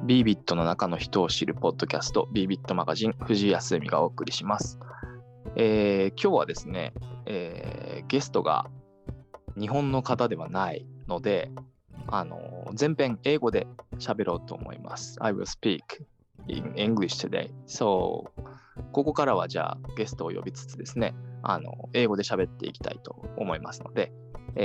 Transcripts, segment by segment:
ビービットの中の人を知るポッドキャスト、ビービットマガジン、藤井康美がお送りします。今日はですね、ゲストが日本の方ではないので、全編英語で喋ろうと思います。I will speak in English today. So, ここからはじゃあゲストを呼びつつですね、英語で喋っていきたいと思いますので、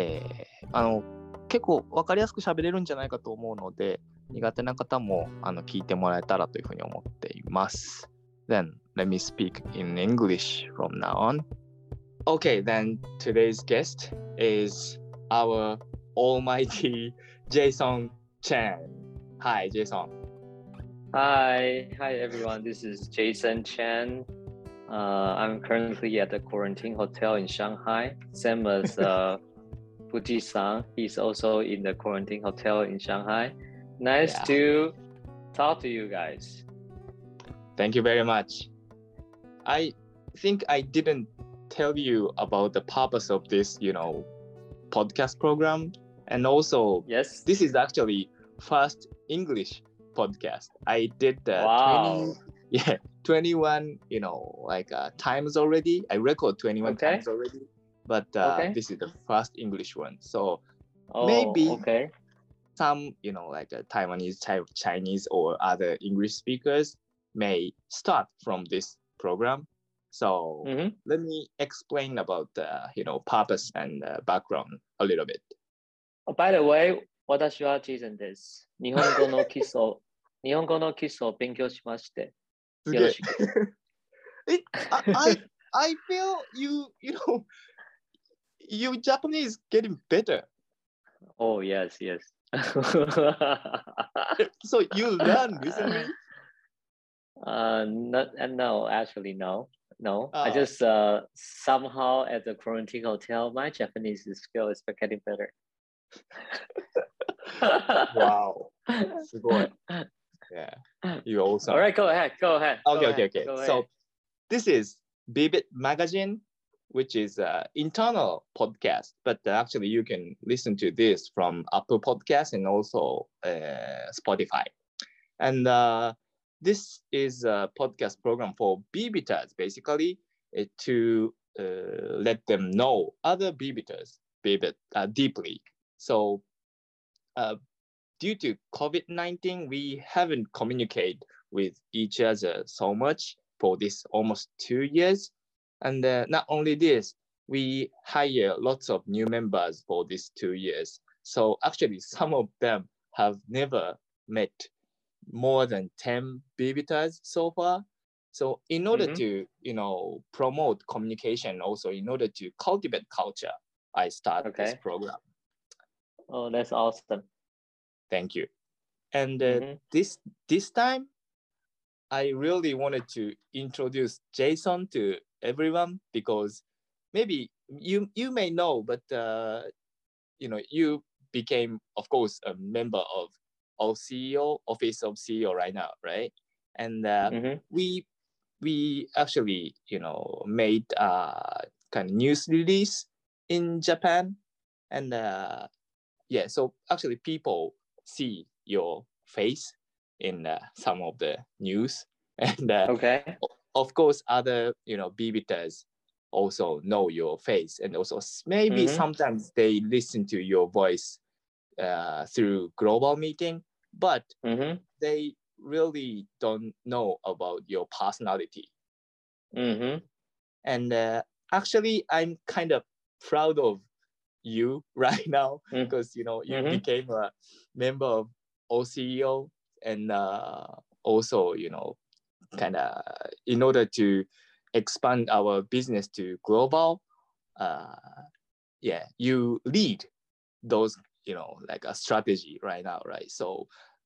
結構分かりやすく喋れるんじゃないかと思うので、苦手な方も聞いてもらえたらというふうに思っています。Then, let me speak in English from now on. Okay, then today's guest is our almighty Jason Chen. Hi, Jason. Hi everyone. This is Jason Chen. I'm currently at the quarantine hotel in Shanghai, same as Fuji-san. He's also in the quarantine hotel in Shanghai. Nice to talk to you guys. Thank you very much. I think I didn't tell you about the purpose of this, podcast program. And also, Yes. This is actually first English podcast. I did wow. 21, times already. I record 21 times already. But This is the first English one. So maybe some, Taiwanese, Chinese, or other English speakers may start from this program. So let me explain about the, purpose and background a little bit. Oh, by the way, 私は Jason です。日本語の基礎を勉強しまして。よろしく。 I feel you Japanese getting better. Oh, yes. So you learned recently? No, actually, no. I just somehow at the quarantine hotel, my Japanese skill is getting better. Wow. すごい. Yeah. You're awesome. All right, go ahead. Okay. Go So ahead. This is Bibit Magazine, which is an internal podcast, but actually you can listen to this from Apple Podcasts and also Spotify. And this is a podcast program for Bibiters, basically, to let them know other Bibiters deeply. So due to COVID-19, we haven't communicated with each other so much for this almost 2 years. And not only this, we hire lots of new members for these 2 years. So actually, some of them have never met more than 10 Bibiters so far. So in order to, promote communication, also in order to cultivate culture, I started this program. Oh, that's awesome. Thank you. And this time, I really wanted to introduce Jason to everyone because maybe you may know, but you became, of course, a member of OCEO, Office of CEO right now, right? And we actually, made a kind of news release in Japan. And so actually people see your face in some of the news. And of course, other, Bibiters also know your face. And also maybe sometimes they listen to your voice through global meeting, but they really don't know about your personality. And actually, I'm kind of proud of you right now because, you became a member of OCEO and also, kind of in order to expand our business to global, you lead those, like a strategy right now, right? So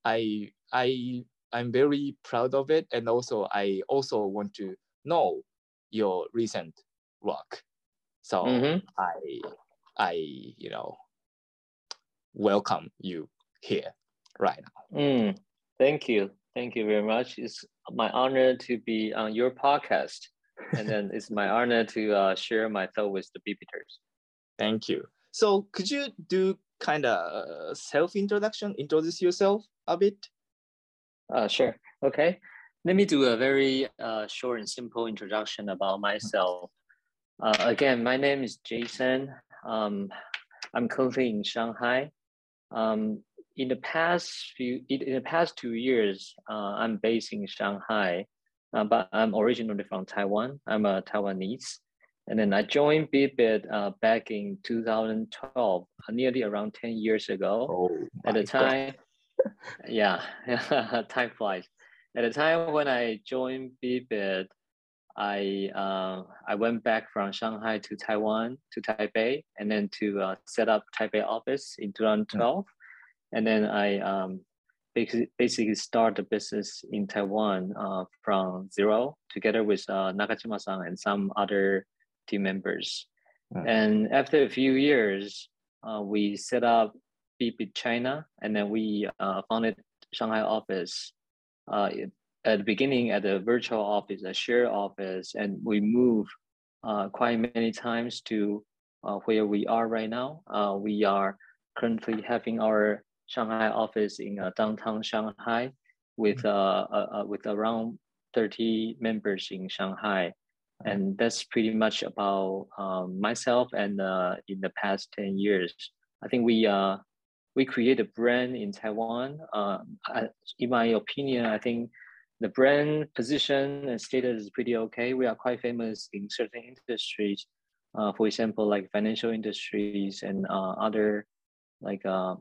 I'm very proud of it, and also I also want to know your recent work. So I welcome you here right now. Thank you very much. It's my honor to be on your podcast, and then it's my honor to share my thought with the Bibiters. Thank you. So could you do kind of self-introduction, introduce yourself a bit? Sure. Okay. Let me do a very short and simple introduction about myself. Again, my name is Jason. I'm currently in Shanghai. In the past 2 years, I'm based in Shanghai, but I'm originally from Taiwan. I'm a Taiwanese, and then I joined Bibit back in 2012, nearly around 10 years ago. Oh At the my God. time, yeah, time flies. At the time when I joined Bibit, I went back from Shanghai to Taiwan to Taipei, and then to set up Taipei office in 2012, and then I basically start the business in Taiwan from zero together with Nakajima-san and some other team members. And after a few years, we set up Bibit China, and then we founded Shanghai office at the beginning at a virtual office, a shared office, and we moved quite many times to where we are right now. We are currently having our Shanghai office in downtown Shanghai with around 30 members in Shanghai. And that's pretty much about myself. And in the past 10 years, I think we create a brand in Taiwan. In my opinion, I think the brand position and status is pretty okay. We are quite famous in certain industries, for example, like financial industries and other, like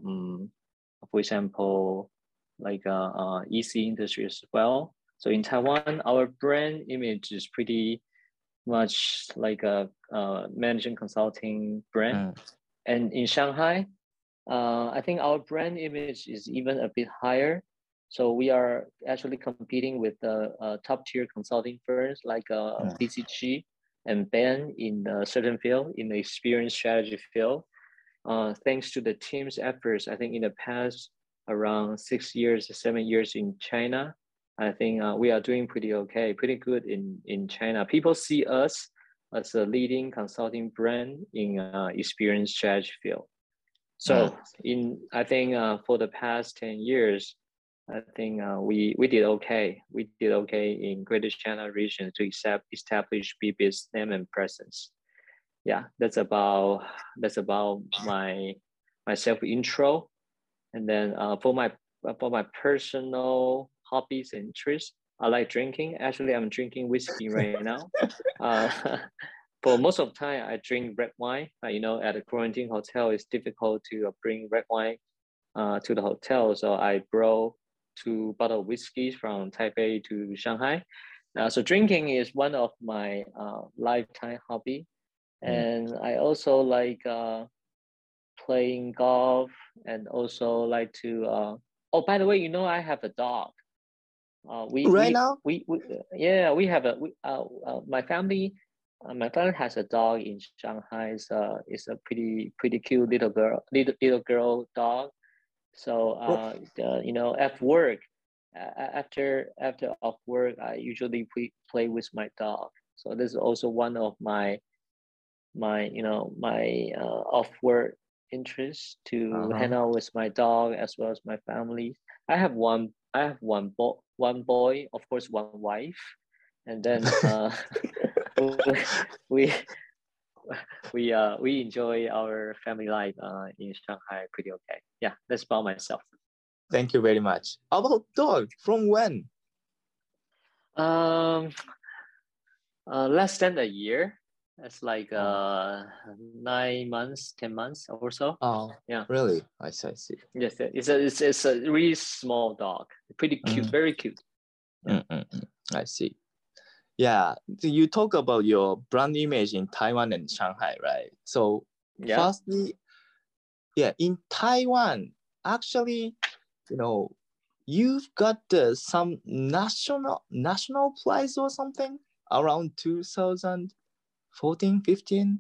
for example, like EC industry as well. So in Taiwan, our brand image is pretty much like a management consulting brand. And in Shanghai, I think our brand image is even a bit higher. So we are actually competing with the top tier consulting firms like BCG and Ben in a certain field, in the experience strategy field. Thanks to the team's efforts, I think in the past around 6 years, 7 years in China, I think we are doing pretty okay, pretty good in China. People see us as a leading consulting brand in experience strategy field. So I think for the past 10 years, I think we did okay. We did okay in Greater China region to establish Bibit's name and presence. Yeah, that's about my self intro. And then for my personal hobbies and interests, I like drinking. Actually, I'm drinking whiskey right now. For most of the time, I drink red wine. You know, at a quarantine hotel, it's difficult to bring red wine to the hotel. So I brought 2 bottles of whiskey from Taipei to Shanghai. So drinking is one of my lifetime hobby. And I also like playing golf, and also like to, oh, by the way, you know, I have a dog. Now? Yeah, we have my family has a dog in Shanghai. It's a pretty cute little girl dog. So you know, at work, after off work, I usually play with my dog. So this is also one of my off work interests, to hang out with my dog as well as my family. I have one boy, of course, one wife, and then we enjoy our family life in Shanghai pretty okay. Yeah, that's about myself. Thank you very much. How about dog? From when? Less than a year. That's like 9 months, 10 months or so. Oh, yeah. Really? I see. Yes, it's a really small dog. Pretty cute, very cute. Yeah. I see. Yeah, you talk about your brand image in Taiwan and Shanghai, right? So firstly, in Taiwan, actually, you know, you've got some national prize or something around 2014, 15.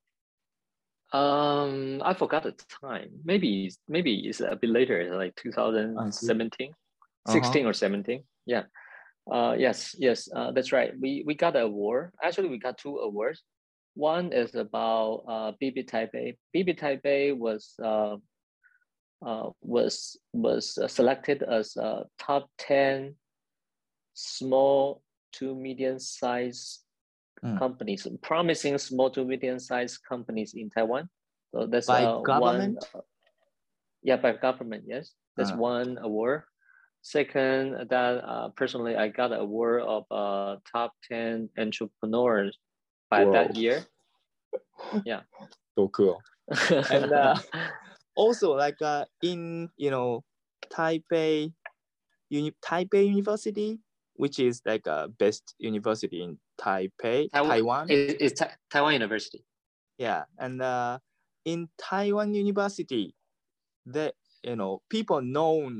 I forgot the time. Maybe it's a bit later, like 2017, 16 or 17. Yeah. Yes, that's right. We got an award. Actually, we got 2 awards. One is about Bibit Taipei. Bibit Taipei was was selected as top 10 small to medium-sized companies, promising small to medium-sized companies in Taiwan. So that's by government. By government. Yes, that's one award. Second, that personally, I got an award of top 10 entrepreneurs by that year. Yeah. So cool. And also, like in Taipei University, which is like a best university in Taiwan. It's Taiwan University. Yeah, and in Taiwan University, the people know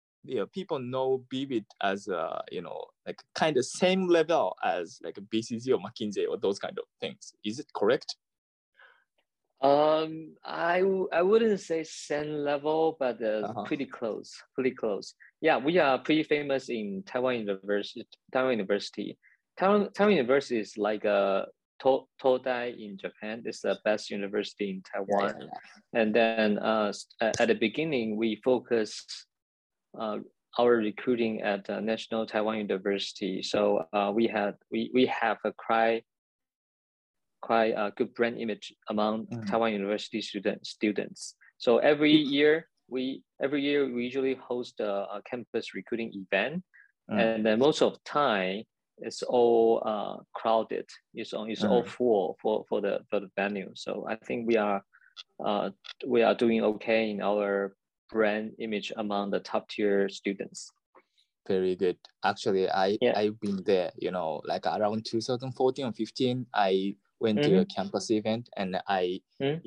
BBIT as like kind of same level as like BCG or McKinsey or those kind of things. Is it correct? I wouldn't say same level, but pretty close. Yeah, we are pretty famous in Taiwan University. Taiwan University is like a Todai in Japan. It's the best university in Taiwan. Yeah. And then at the beginning, we focused our recruiting at National Taiwan University. So we have a quite a good brand image among Taiwan University students. So every year we usually host a campus recruiting event, and then most of the time it's all crowded. It's all full for the venue. So I think we are doing okay in our brand image among the top tier students. Very good. Actually, I've been there. Like around 2014 or 15, I went to a campus event, and I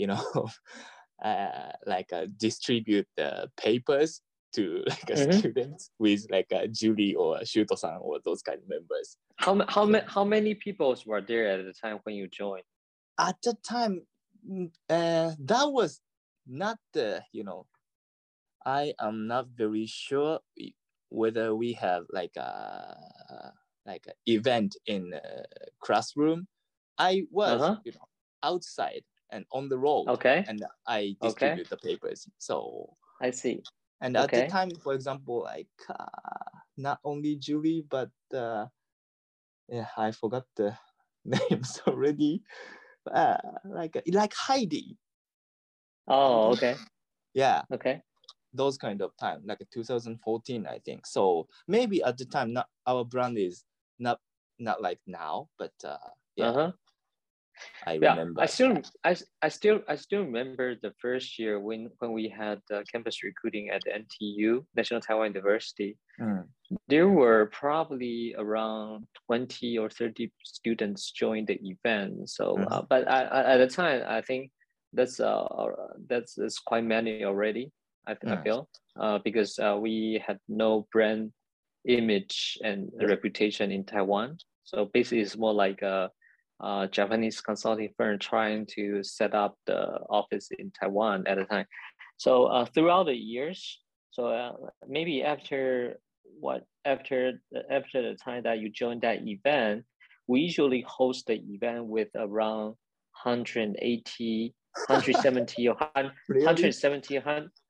distribute the papers to like students with like a Julie or Shuto-san or those kind of members. How many people were there at the time when you joined? At the time, that was not the I am not very sure whether we have like a event in a classroom. I was outside and on the road, and I distribute the papers. So I see. And at the time, for example, like not only Julie, but I forgot the names already. Like Heidi. Oh, okay. Yeah. Okay. Those kind of time, like 2014, I think. So maybe at the time, not our brand is not like now, but I remember. I still remember the first year when we had campus recruiting at the NTU, National Taiwan University. There were probably around 20 or 30 students join the event. So, but at the time, I think that's quite many already. I feel because we had no brand image and reputation in Taiwan. So basically, it's more like a Japanese consulting firm trying to set up the office in Taiwan at the time. So throughout the years, so maybe after the time that you joined that event, we usually host the event with around 180, 170 or 170,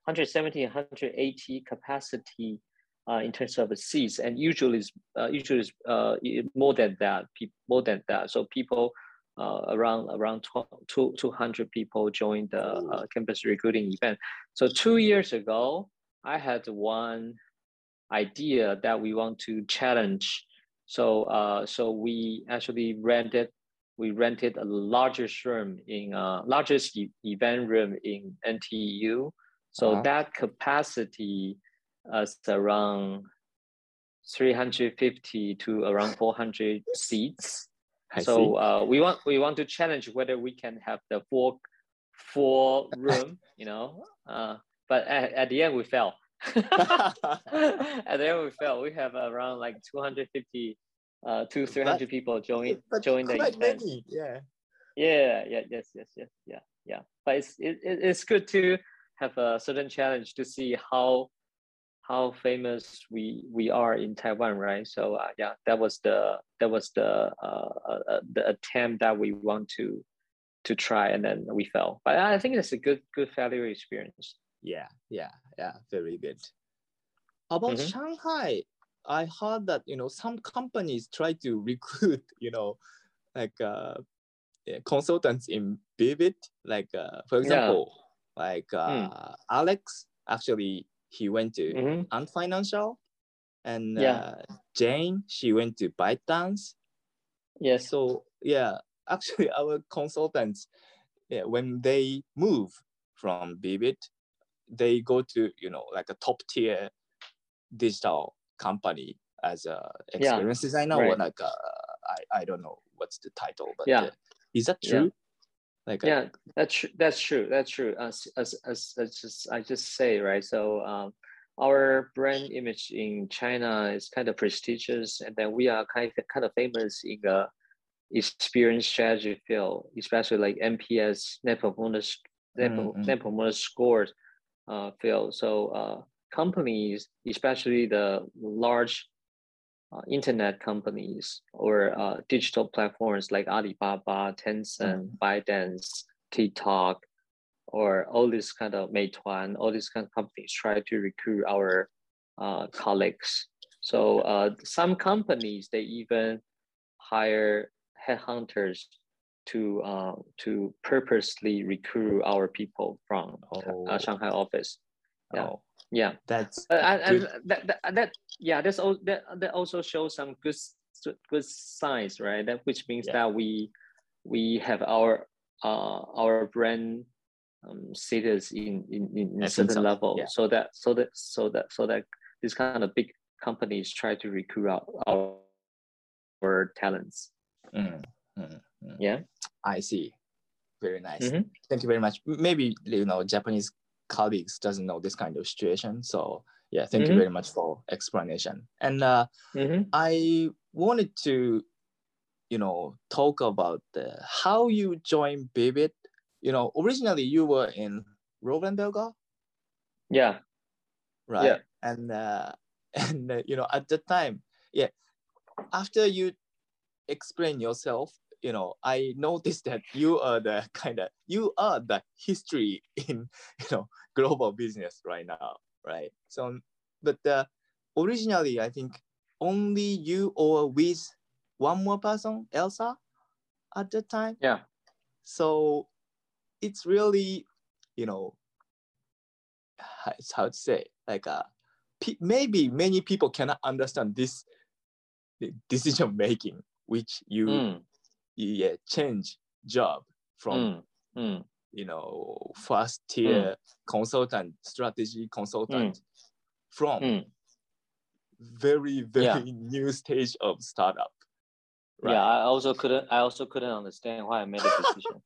180 capacity in terms of the seats, and usually more than that. So people around 200 people joined the campus recruiting event. So 2 years ago, I had one idea that we want to challenge. So we actually rented a largest room largest event room in NTU. So that capacity is around 350 to around 400 seats. So we want to challenge whether we can have the four room, but at the end we fell. At the end we fell. We have around like 250 to 300 people join the event. Many. Yeah. But it's good to have a certain challenge to see how famous we are in Taiwan, right? So that was the attempt that we want to try, and then we fell. But I think it's a good failure experience. Yeah, yeah, yeah. Very good. About Shanghai, I heard that some companies try to recruit like consultants in Vivid. Like for example, like Alex. Actually, he went to Ant Financial, and Jane, she went to ByteDance. Yes. So yeah, actually, our consultants, when they move from Vivid, they go to like a top tier digital company as a experience designer, or like I don't know what's the title, but is that true? Like that's true. That's true. As I just say, right? So our brand image in China is kind of prestigious, and then we are kind of famous in the experience strategy field, especially like NPS, Net Promoter Scores field. So companies, especially the large internet companies or digital platforms like Alibaba, Tencent, ByteDance, TikTok, or all this kind of Meituan, all these kind of companies try to recruit our colleagues. So some companies, they even hire headhunters to purposely recruit our people from Shanghai office. Yeah. That's and that's all that also shows some good signs, right? That which means that we have our brand status in a certain level, so that this kind of big companies try to recruit our talents. Yeah, I see. Very nice. Thank you very much. Maybe Japanese colleagues doesn't know this kind of situation, so yeah, thank you very much for explanation. And I wanted to talk about how you joined Vivid. Originally you were in Roland Berger. Yeah. Right. Yeah. And at the time, after you explain yourself, I noticed that you are the history in global business right now, right? So, but originally I think only you or with one more person, Elsa, at the time. Yeah. So it's really, how to say, like maybe many people cannot understand this decision making, which you change job from first tier consultant, strategy consultant, from very new stage of startup. Right? Yeah, I also couldn't understand why I made a decision.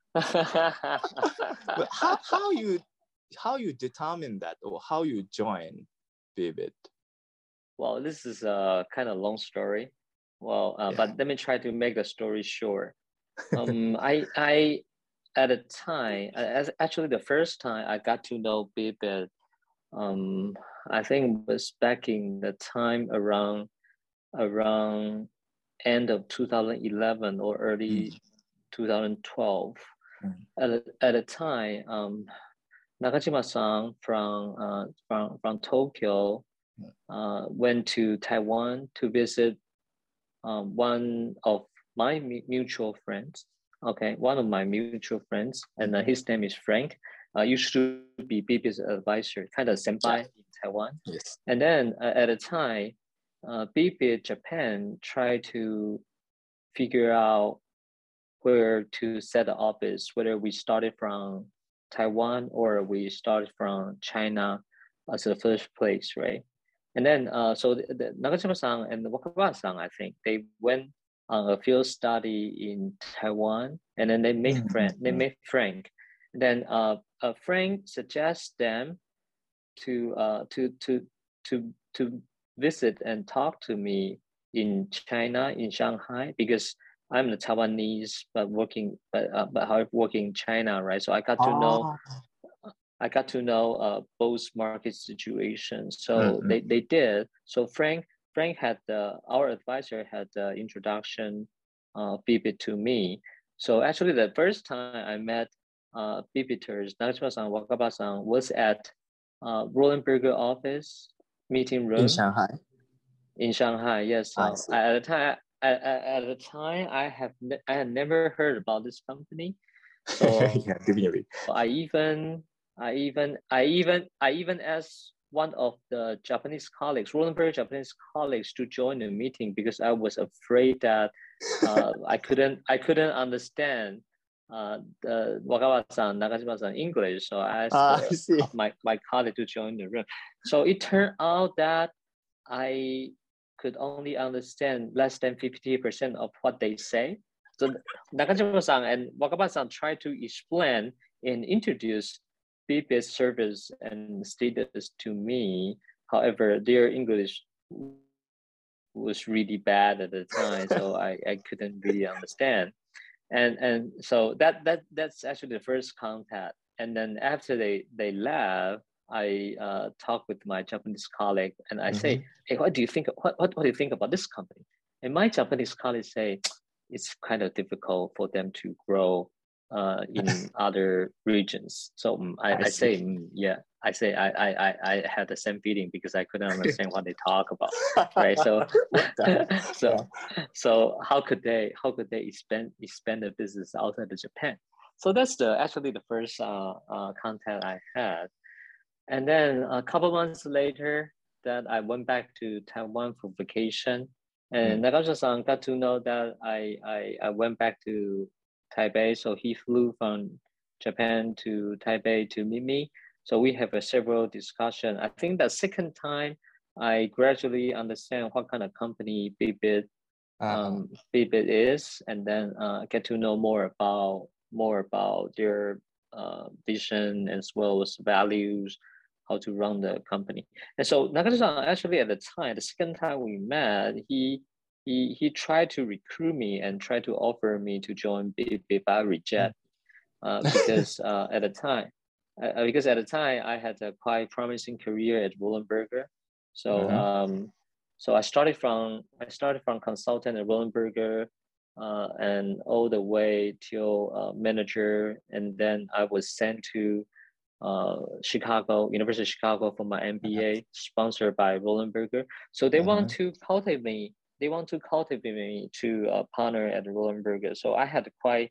But how you determine that, or how you join Vivid? Well, this is a kind of long story. Well, but let me try to make the story short. I at a time, actually the first time I got to know Vivid, I think it was back in the time around end of 2011 or early 2012. At a time, Nakajima-san from Tokyo went to Taiwan to visit one of my mutual friends. Okay, one of my mutual friends, and his name is Frank. Used to be Vivid's advisor, kind of senpai in Taiwan. Yes. And then at a time, Vivid Japan tried to figure out where to set the office, whether we started from Taiwan or we started from China as the first place, right? And then, so the Nakajima-san and Wakaba-san, I think, they went on a field study in Taiwan, and then they made Frank. And then Frank suggests them to visit and talk to me in China, in Shanghai, because I'm the Taiwanese, but working in China, right? So I got to know both market situations. So they did. So Frank had our advisor had the introduction Vivid to me. So actually, the first time I met Bibiters, Nakajima-san, Wakaba-san was at Roland Berger office meeting room in Shanghai. In Shanghai, yes. So at the time, I had never heard about this company. So yeah, definitely. I even asked one of the Japanese colleagues, Roland Berger Japanese colleagues, to join the meeting because I was afraid that I couldn't understand the Wakaba-san, Nakajima-san English. So I asked my colleague to join the room. So it turned out that I could only understand less than 50% of what they say. So Nakajima-san and Wakaba-san tried to explain and introduce Bibit service and status to me. However, their English was really bad at the time, so I couldn't really understand. And so that's actually the first contact. And then after they left, I talked with my Japanese colleague and I say, hey, what do you think? What do you think about this company? And my Japanese colleague say, it's kind of difficult for them to grow in other regions. So I say, yeah, I say I had the same feeling because I couldn't understand what they talk about, right? So so how could they expand the business outside of Japan? So that's actually the first contact I had. And then a couple months later, that I went back to Taiwan for vacation, and Nakajima-san got to know that I went back to Taipei. So he flew from Japan to Taipei to meet me. So we have a several discussion. I think the second time, I gradually understand what kind of company Bibit is, and then get to know more about their vision as well as values, how to run the company. And so Nakajima actually at the time, the second time we met, he tried to recruit me and tried to offer me to join Bibit, but I reject because at the time I had a quite promising career at Roland Berger. So so I started from consultant at Roland Berger and all the way till manager, and then I was sent to University of Chicago for my MBA, sponsored by Roland Berger. So they want to cultivate me. They want to cultivate me to partner at Roland Berger. So I had quite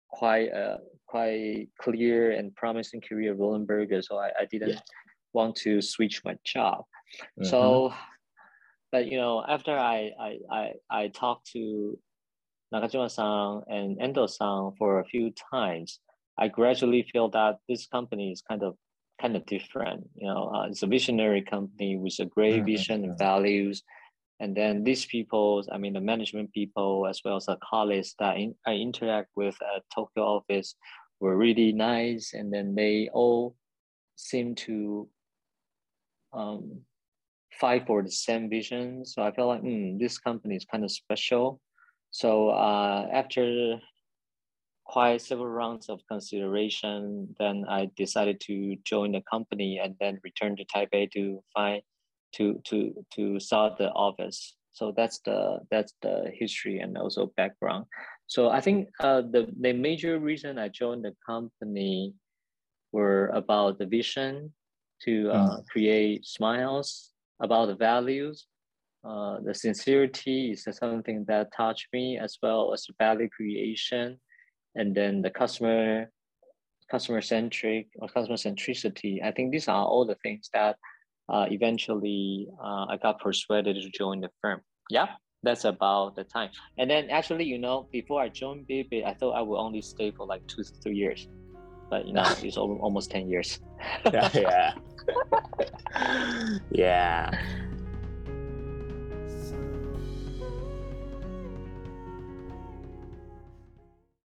clear and promising career at Roland Berger. So I didn't want to switch my job. So, but after I talked to Nakajima-san and Endo-san for a few times, I gradually feel that this company is kind of different. It's a visionary company with a great vision and values. And then these people, I mean, the management people, as well as the colleagues that I interact with at Tokyo office, were really nice. And then they all seem to fight for the same vision. So I felt like this company is kind of special. So after quite several rounds of consideration, then I decided to join the company and then return to Taipei to start the office. So that's the history and also background. So I think the major reason I joined the company were about the vision to create smiles, about the values. The sincerity is something that touched me, as well as value creation, and then the customer centricity. I think these are all the things that eventually I got persuaded to join the firm. Yeah, that's about the time. And then actually, before I joined Bibit, I thought I would only stay for like 2 to 3 years, but it's almost 10 years. Yeah.